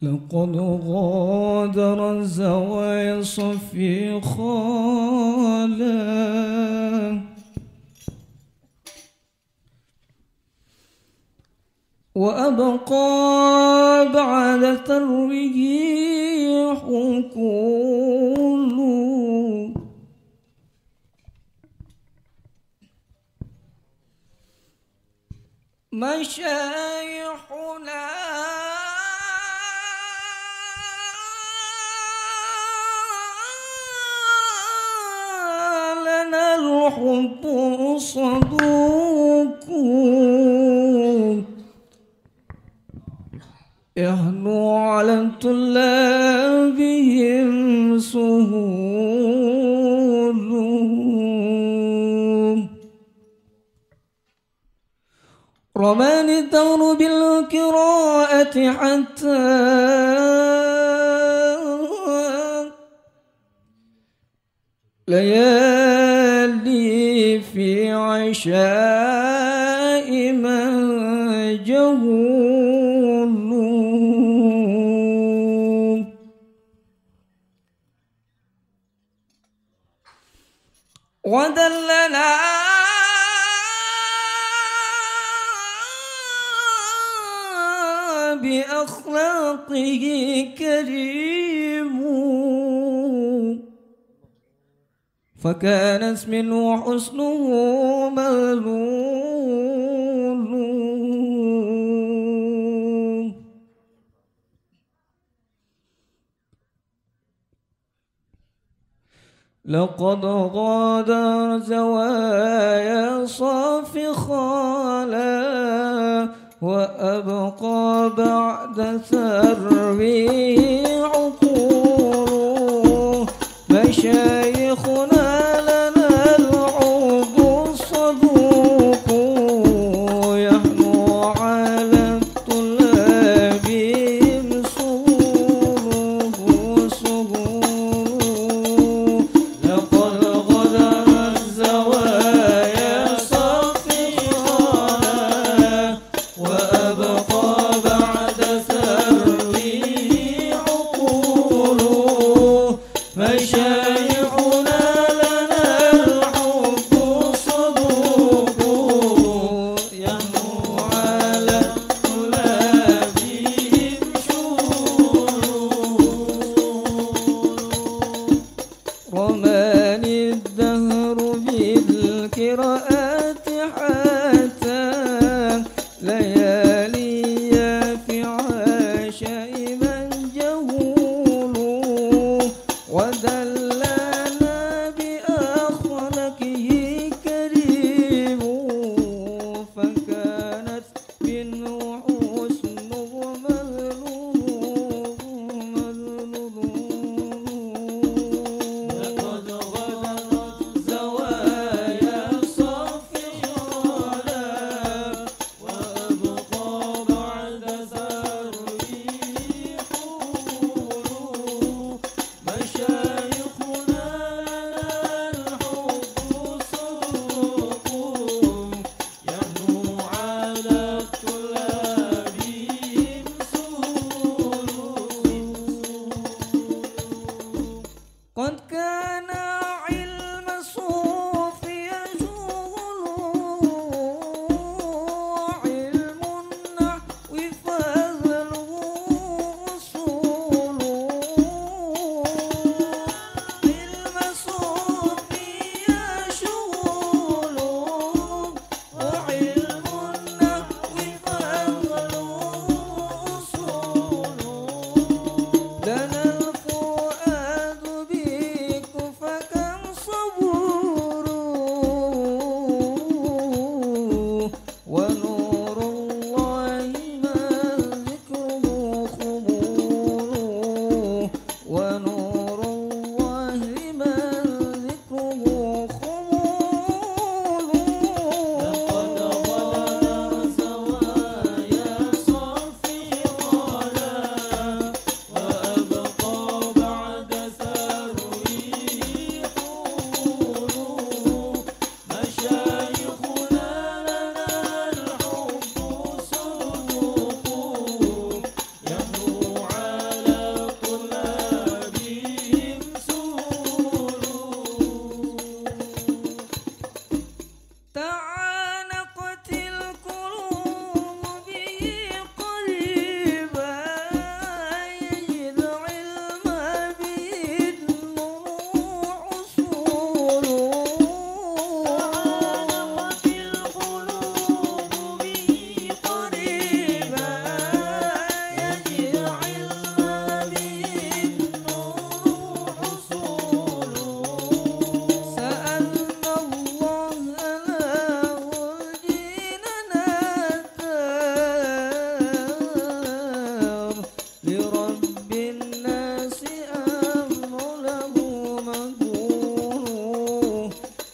لقد غادر الزوايا صفي خالا وأبقى بعد ترويه حقول مشايخنا لنا الحب صدوق يهنو على طلابهم سهول رماني الدهر بالقراءة حتى ليالي في عشاء من جهول ودلنا بأخلاقه كريم فكان اسمه حسنه مغلول لقد غادر زوايا صافي خالا وأبقى بعد ثروي عقول مشايخنا لنا العود الصدوق يهنو على الطلاب سهول لقد غدر الزوايا صفي خالا وأبقى بعد ثروي عقول مشايخنا لنا الحب صدوق يهنو على طلابهم شهول رماني الدهر بالقراءات حتى ليالي في عشاء من جهول ودلنا بأخلاقه كريم فكانت منه حسنه مذلول لقد غدرت زوايا صف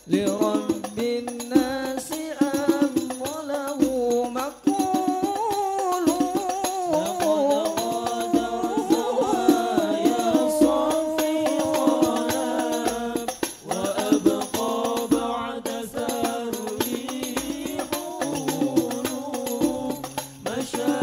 لرب الناس أمر له مقول لقد غادر زوايا صافي قلب وأبقى بعد ثروي حول مشى